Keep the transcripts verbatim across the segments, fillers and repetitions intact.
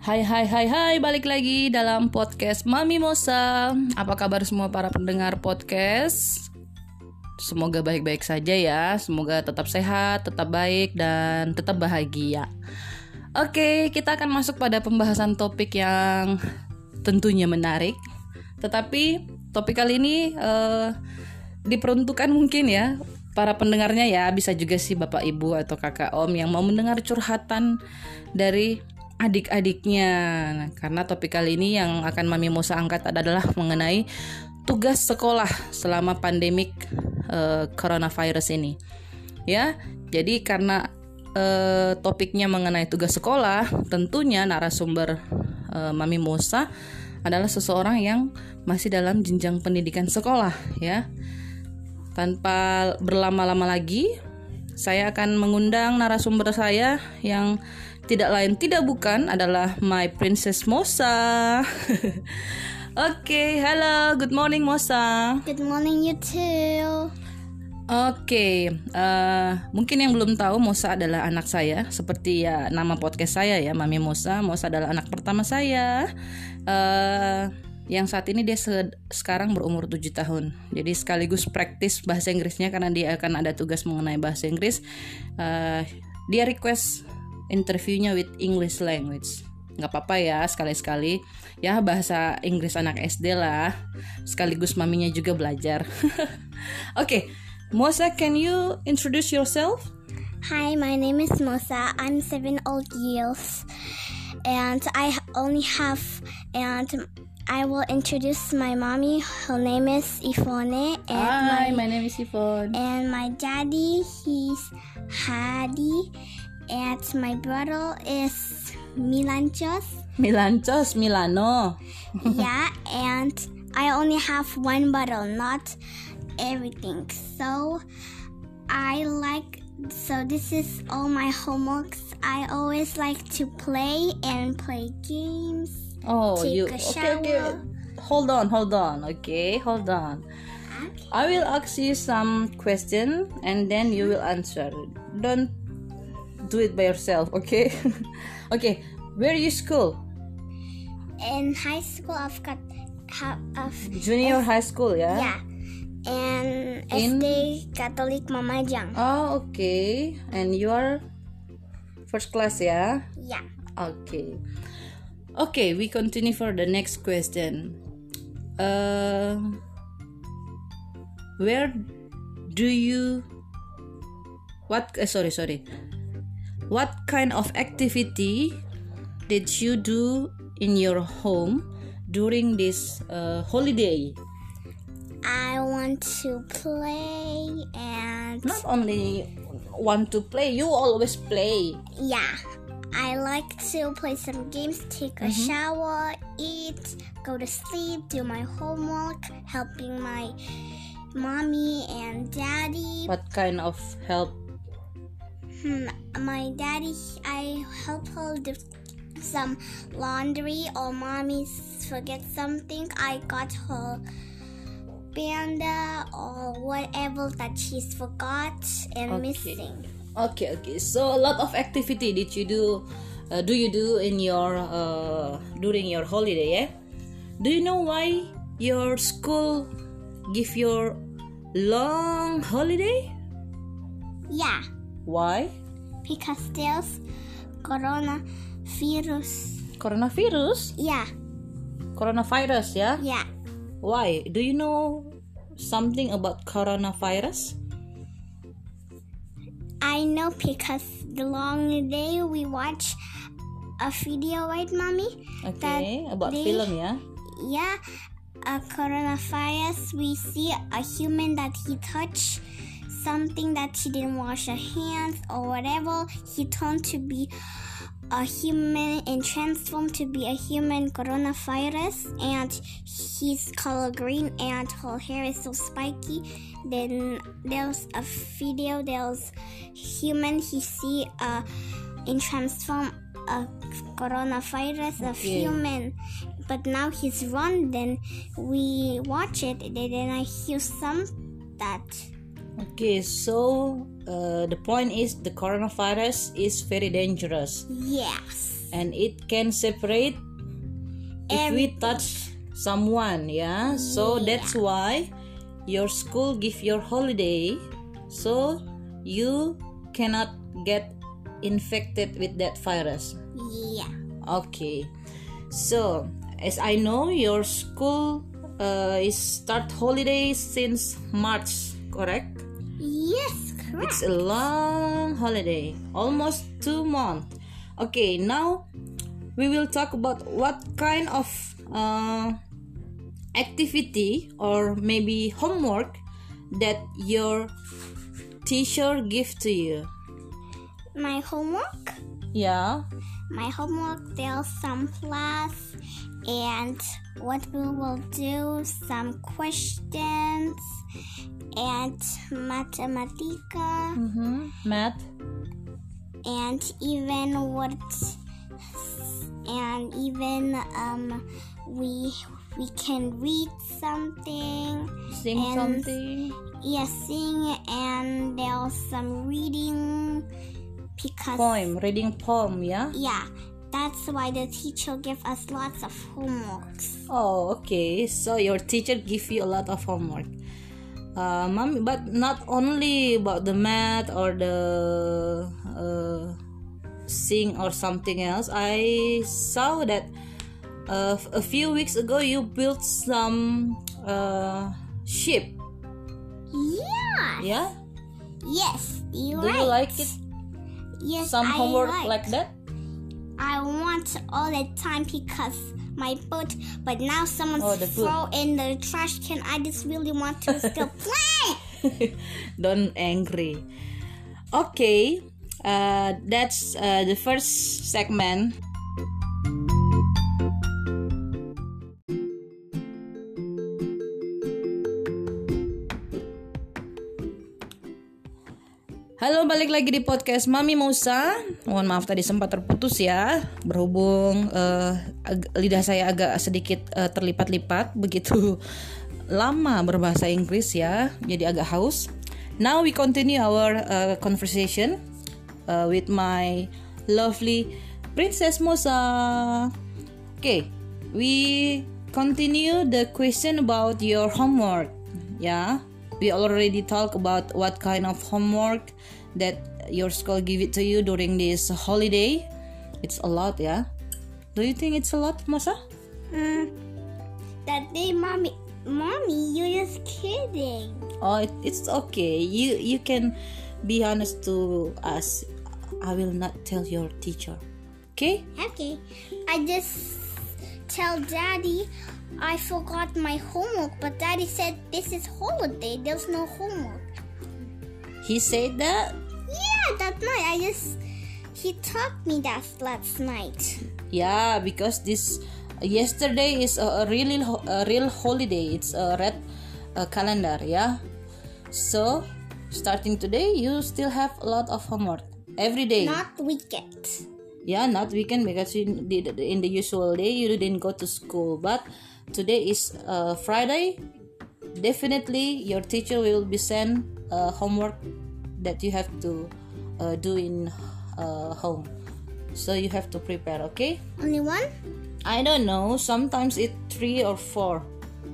Hai hai hai hai, balik lagi dalam podcast Mami Mosa. Apa kabar semua para pendengar podcast? Semoga baik-baik saja ya. Semoga tetap sehat, tetap baik, dan tetap bahagia. Oke, kita akan masuk pada pembahasan topik yang tentunya menarik. Tetapi topik kali ini uh, diperuntukkan mungkin ya para pendengarnya ya. Bisa juga sih bapak ibu atau kakak om yang mau mendengar curhatan dari adik-adiknya. Nah, karena topik kali ini yang akan Mami Mosa angkat adalah mengenai tugas sekolah selama pandemik uh, coronavirus ini. Ya, jadi karena uh, topiknya mengenai tugas sekolah, tentunya narasumber uh, Mami Mosa adalah seseorang yang masih dalam jenjang pendidikan sekolah, ya. Tanpa berlama-lama lagi, saya akan mengundang narasumber saya yang tidak lain tidak bukan adalah my princess Mosa. Oke, okay, halo, good morning Mosa. Good morning you too. Oke, okay, uh, mungkin yang belum tahu Mosa adalah anak saya, seperti ya nama podcast saya ya, Mami Mosa. Mosa adalah anak pertama saya, uh, yang saat ini dia se- sekarang berumur tujuh tahun. Jadi sekaligus praktis bahasa Inggrisnya karena dia akan ada tugas mengenai bahasa Inggris. Uh, dia request interviewnya with English language. Nggak apa-apa ya, sekali-sekali ya bahasa Inggris anak S D lah, sekaligus maminya juga belajar. Oke, okay. Mosa, can you introduce yourself? Hi, my name is Mosa. I'm seven old years and I only have and I will introduce my mommy. Her name is Ifone. And Hi, my, my name is Ifone. And my daddy, he's Hadi. And my brother is Milanchos. Milanchos, Milano. Yeah, and I only have one bottle, not everything. So I like, so this is all my homeworks. I always like to play and play games. Oh, take you a okay, okay. shower. Hold on, hold on. Okay, hold on. Okay. I will ask you some question and then you will answer. Don't do it by yourself, okay? Okay, where you school? In high school, I've got ha- of Junior high school, ya? yeah, and In- S D Catholic Mamajang. Oh, okay. And you are first class, ya? Yeah. Okay. Okay, we continue for the next question. Uh, where do you? What? Uh, sorry, sorry. What kind of activity did you do in your home during this uh, holiday? I want to play and Not only want to play, you always play. yeah, I like to play some games, take a Mm-hmm. shower, eat, go to sleep, do my homework, helping my mommy and daddy. What kind of help? Hmm, my daddy, I help her do some laundry, or mommy forget something. I got her panda or whatever that she's forgot and Okay. missing. Okay, okay. So a lot of activity did you do? Uh, do you do in your uh, during your holiday? Yeah. Do you know why your school give your long holiday? Yeah, Why? because there's coronavirus. Coronavirus. Yeah, Coronavirus, yeah. yeah. Why? Do you know something about coronavirus? I know because the long day we watch a video, right, mommy? Okay, about they- film, yeah. Yeah, a coronavirus. We see a human that he touched something that she didn't wash her hands or whatever. He turned to be a human and transformed to be a human coronavirus, and he's color green and her hair is so spiky. Then there's a video, there's human, he see a in transform a coronavirus of Okay. human, but now he's run. Then we watch it, and then I hear some that Okay, so uh, the point is the coronavirus is very dangerous. yes. and it can separate if we Everything. touch someone, yeah. So Yeah. that's why your school give your holiday, so you cannot get infected with that virus. Yeah. Okay, so as I know, your school uh, is start holidays since March, correct? Yes, correct. It's a long holiday, almost two months. Okay, now we will talk about what kind of uh, activity or maybe homework that your teacher give to you. My homework? Yeah. My homework, there's some class, and what we will do, some questions, and mathematica, Mm-hmm. Math. and even what, and even um, we we can read something, Sing And- something. yeah, sing, and there's some reading because Poem. Reading poem. Yeah. yeah, that's why the teacher give us lots of homeworks. Oh, okay. So your teacher give you a lot of homework. Uh, mommy, but not only about the math or the uh, sing or something else. I saw that uh, a few weeks ago you built some uh, ship. Yeah. Yeah. Yes, you're Do right. you like it? Yes, Some I homework like. like that? I want all the time because my boat, but now someone's Oh, the boat. throw in the trash can. I just really want to still play. Don't angry. Okay, uh, that's uh, the first segment. Halo, balik lagi di podcast Mami Musa. Mohon maaf tadi sempat terputus ya, berhubung uh, ag- lidah saya agak sedikit uh, terlipat-lipat begitu lama berbahasa Inggris ya, jadi agak haus. Now we continue our uh, conversation uh, with my lovely Princess Musa. Okay, we continue the question about your homework. Yeah, we already talk about what kind of homework that your school give it to you during this holiday. It's a lot, yeah. Do you think it's a lot, Musa? Hmm. That day, mommy, mommy, you're just kidding. Oh, it, it's okay. You you can be honest to us. I will not tell your teacher. Okay? Okay, I just tell daddy I forgot my homework, but daddy said this is holiday. There's no homework. He said that. Yeah, that night I just he taught me that last night. Yeah, because this yesterday is a, a really ho- a real holiday. It's a red uh, calendar, yeah. So starting today, you still have a lot of homework every day. Not weekend. Yeah, not weekend because you did in the usual day you didn't go to school. But today is uh, Friday. Definitely, your teacher will be send uh, homework that you have to uh, do in uh, home. So you have to prepare. Okay. Only one? I don't know. Sometimes it's three or four.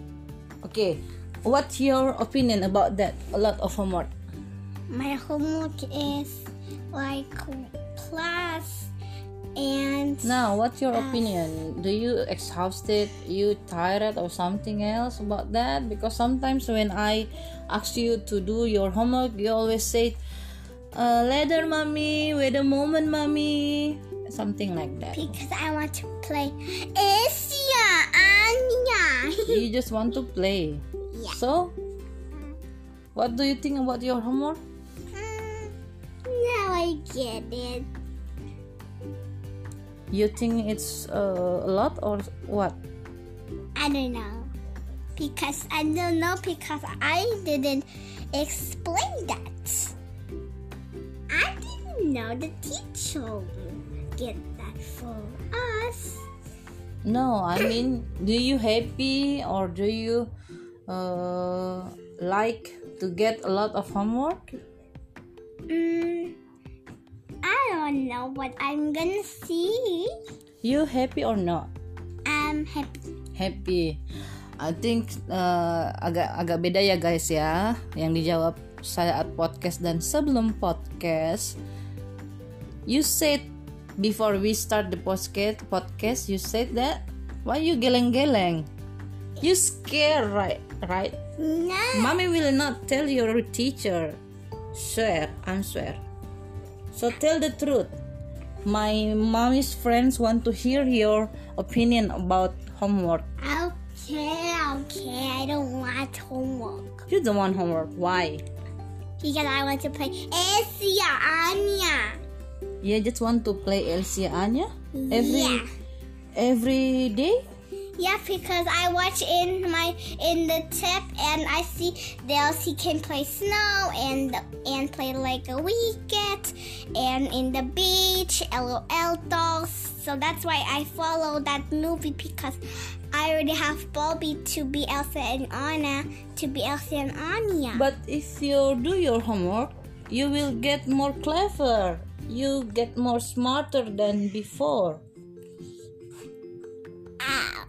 Okay. What's your opinion about that? A lot of homework. My homework is like plus and Now, what's your opinion? Do you exhausted? You tired or something else about that? Because sometimes when I ask you to do your homework, you always say, uh, "Later, mommy. Wait a moment, mommy." Something like that. because I want to play Asia Anya. You just want to play. Yeah. So, what do you think about your homework? Hmm, now I get it. You think it's uh, a lot or what? I don't know. Because I don't know because I didn't explain that. I didn't know the teacher would get that for us. No, I mean, do you happy or do you uh, like to get a lot of homework? Mm, I don't know what I'm gonna see. You happy or not? I'm happy. Happy. I think uh, agak agak beda ya guys ya, yang dijawab saat podcast dan sebelum podcast. You said before we start the podcast, podcast you said that why you geleng-geleng? You scared, right? Right? No. Mommy will not tell your teacher. Swear, I swear. So tell the truth. My mommy's friends want to hear your opinion about homework. Okay, okay. I don't want homework. You don't want homework. Why? Because I want to play Elsia Anya. You just want to play Elsie Anya every Yeah. every day? Yeah, because I watch in my in the tip and I see the Elsie can play snow and and play like a weekend and in the beach, LOL dolls. So that's why I follow that movie because I already have Bobby to be Elsa and Anna to be Elsa and Anya. But if you do your homework, you will get more clever. You get more smarter than before. Ow.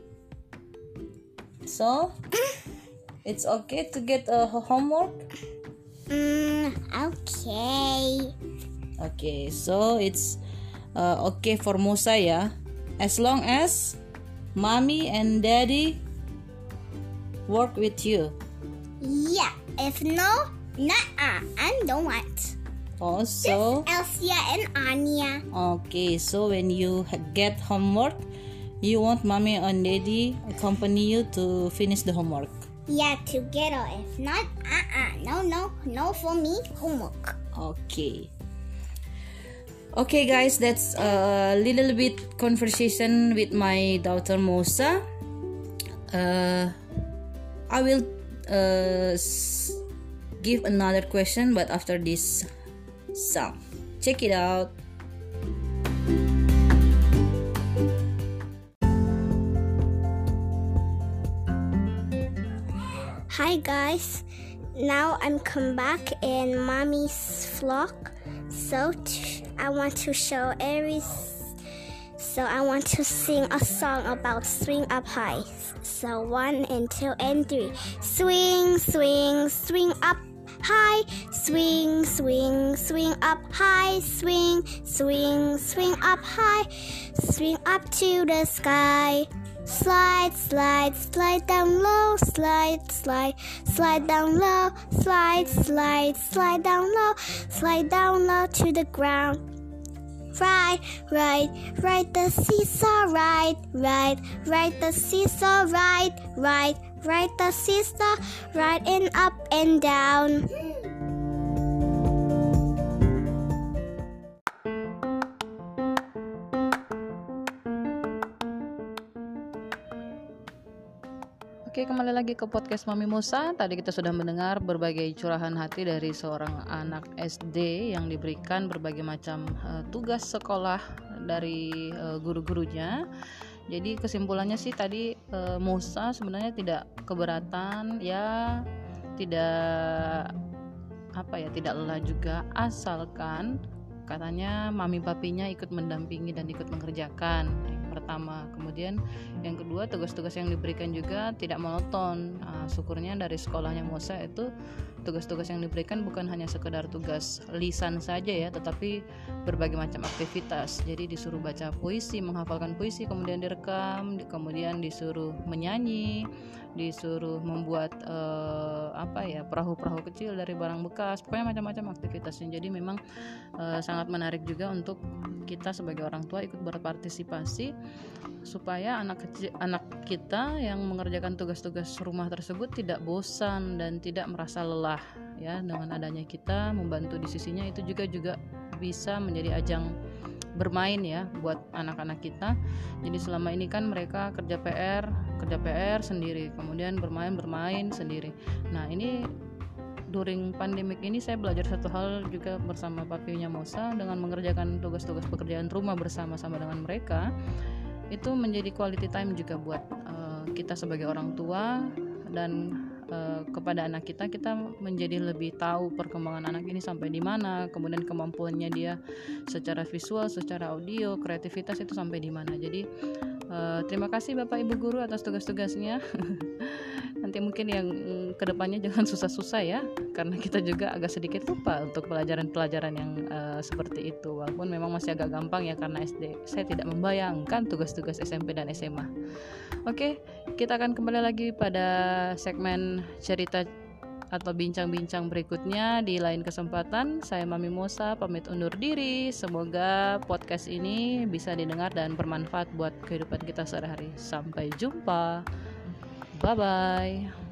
So, it's okay to get a homework? Mm, okay. Okay, so it's uh, okay for Musa ya. As long as mommy and daddy work with you. Yeah. If no, nah, I don't want. Oh, so Elsia and Anya. okay, so when you ha- get homework, you want mommy and daddy accompany you to finish the homework. Yeah, together. If not, uh-uh. No, no, no for me. Homework. Okay. Okay, guys, that's a little bit conversation with my daughter Mosa. Uh, I will uh, s- give another question, but after this song. Check it out. Hi guys, now I'm come back in mommy's vlog. So t- I want to show every. So I want to sing a song about swing up high. So one and two and three. Swing, swing, swing up high. Swing, swing, swing up high. Swing, swing, swing up high. Swing up to the sky. Slide, slide, slide down low, slide, slide, slide down low, slide, slide, slide down low, slide down low to the ground. Ride, ride, ride the seesaw, ride, ride, ride the seesaw, ride, ride, ride the seesaw, ride and up and down. Oke, kembali lagi ke podcast Mami Musa. Tadi kita sudah mendengar berbagai curahan hati dari seorang anak S D yang diberikan berbagai macam uh, tugas sekolah dari uh, guru-gurunya. Jadi kesimpulannya sih tadi uh, Musa sebenarnya tidak keberatan, ya tidak apa ya, tidak lelah juga, asalkan katanya mami papinya ikut mendampingi dan ikut mengerjakan. Pertama, kemudian yang kedua, tugas-tugas yang diberikan juga tidak monoton. Nah, syukurnya dari sekolahnya Musa itu tugas-tugas yang diberikan bukan hanya sekedar tugas lisan saja ya, tetapi berbagai macam aktivitas. Jadi disuruh baca puisi, menghafalkan puisi, kemudian direkam, kemudian disuruh menyanyi, disuruh membuat eh, apa ya, perahu-perahu kecil dari barang bekas, pokoknya macam-macam aktivitasnya. Jadi memang eh, sangat menarik juga untuk kita sebagai orang tua ikut berpartisipasi supaya anak kecil, anak kita yang mengerjakan tugas-tugas rumah tersebut tidak bosan dan tidak merasa lelah ya. Dengan adanya kita membantu di sisinya, itu juga juga bisa menjadi ajang bermain ya buat anak-anak kita. Jadi selama ini kan mereka kerja P R, kerja P R sendiri, kemudian bermain bermain sendiri. Nah, ini during pandemik ini saya belajar satu hal juga bersama papinya Mosa, dengan mengerjakan tugas-tugas pekerjaan rumah bersama-sama dengan mereka. Itu menjadi quality time juga buat uh, kita sebagai orang tua, dan uh, kepada anak kita, kita menjadi lebih tahu perkembangan anak ini sampai di mana, kemudian kemampuannya dia secara visual, secara audio, kreativitas itu sampai di mana. Jadi uh, terima kasih Bapak Ibu guru atas tugas-tugasnya. Nanti mungkin yang kedepannya jangan susah-susah ya, karena kita juga agak sedikit lupa untuk pelajaran-pelajaran yang uh, seperti itu. Walaupun memang masih agak gampang ya, karena S D saya tidak membayangkan tugas-tugas S M P dan S M A. Oke, kita akan kembali lagi pada segmen cerita atau bincang-bincang berikutnya di lain kesempatan. Saya Mami Mosa pamit undur diri. Semoga podcast ini bisa didengar dan bermanfaat buat kehidupan kita sehari-hari. Sampai jumpa. Bye-bye.